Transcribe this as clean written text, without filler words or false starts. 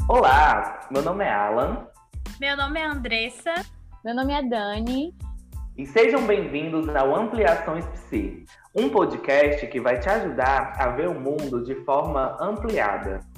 Olá, meu nome é Alan. Meu nome é Andressa. Meu nome é Dani. E sejam bem-vindos ao Ampliações Psi, um podcast que vai te ajudar a ver o mundo de forma ampliada.